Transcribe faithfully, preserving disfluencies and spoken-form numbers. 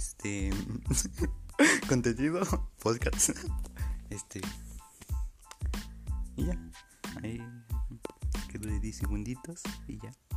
Este. Contenido, podcast. Este. Y ya. Ahí. Que dure diez segunditos y ya.